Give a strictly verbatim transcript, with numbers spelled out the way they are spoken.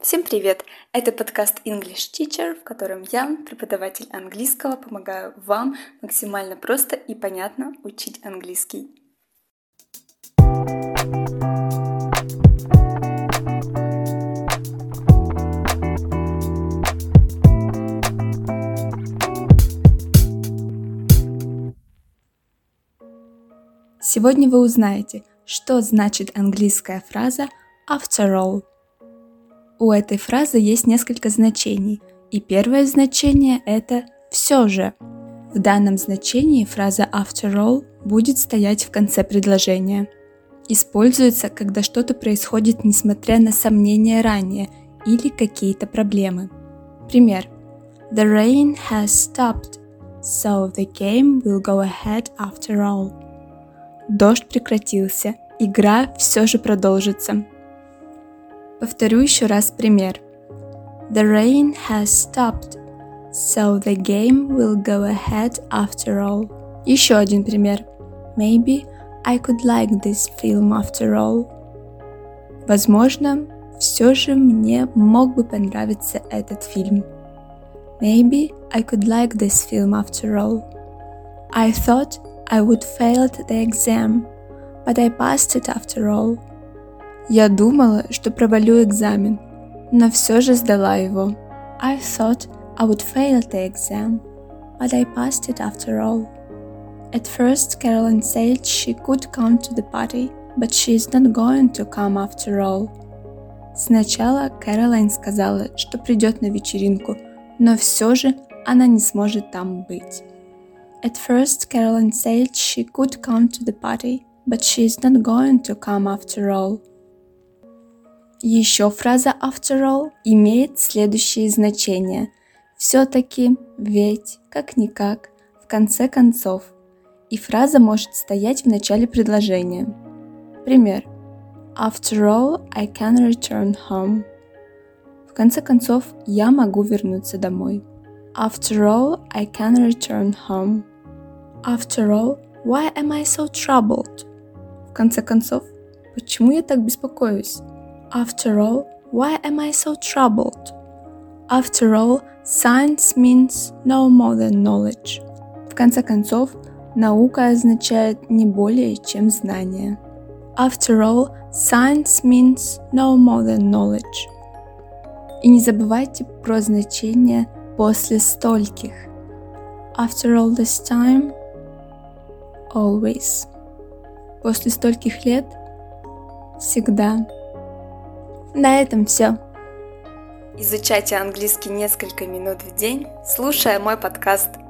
Всем привет! Это подкаст English Teacher, в котором я, преподаватель английского, помогаю вам максимально просто и понятно учить английский. Сегодня вы узнаете, что значит английская фраза after all. У этой фразы есть несколько значений, и первое значение – это «все же». В данном значении фраза after all будет стоять в конце предложения. Используется, когда что-то происходит несмотря на сомнения ранее или какие-то проблемы. Пример. The rain has stopped, so the game will go ahead after all. Дождь прекратился, игра все же продолжится. Повторю еще раз пример. The rain has stopped, so the game will go ahead after all. Еще один пример. Maybe I could like this film after all. Возможно, все же мне мог бы понравиться этот фильм. Maybe I could like this film after all. I thought I would fail the exam, but I passed it after all. Я думала, что провалю экзамен, но все же сдала его. I thought I would fail the exam, but I passed it after all. At first, Caroline said she could come to the party, but she is not going to come after all. Сначала Кэролайн сказала, что придет на вечеринку, но все же она не сможет там быть. At first, Caroline said she could come to the party, but she is not going to come after all. Еще фраза after all имеет следующие значения. Все-таки, ведь, как-никак, в конце концов. И фраза может стоять в начале предложения. Пример. After all, I can return home. В конце концов, я могу вернуться домой. After all, I can return home. After all, why am I so troubled? В конце концов, почему я так беспокоюсь? After all, why am I so troubled? After all, science means no more than knowledge. В конце концов, наука означает не более, чем знание. After all, science means no more than knowledge. И не забывайте про значение после стольких. After all this time, always. После стольких лет, всегда. На этом все. Изучайте английский несколько минут в день, слушая мой подкаст.